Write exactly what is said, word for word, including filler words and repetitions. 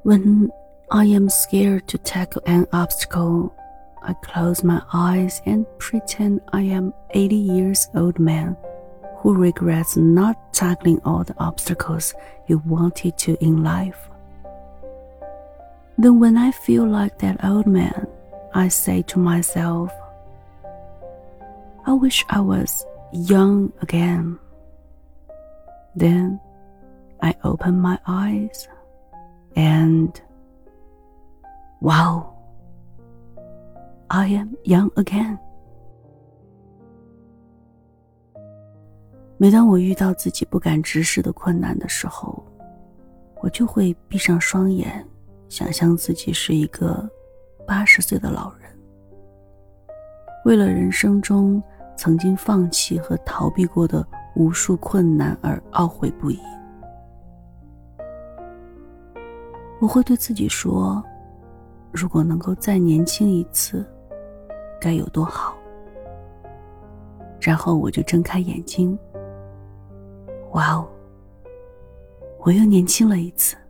When I am scared to tackle an obstacle, I close my eyes and pretend I am eighty years old man who regrets not tackling all the obstacles he wanted to in life. Then when I feel like that old man, I say to myself, I wish I was young again. Then I open my eyes and wow, I am young again. 每当我遇到自己不敢直视的困难的时候，我就会闭上双眼，想象自己是一个八十岁的老人，为了人生中曾经放弃和逃避过的无数困难而懊悔不已。我会对自己说，如果能够再年轻一次，该有多好。然后我就睁开眼睛，哇哦，我又年轻了一次。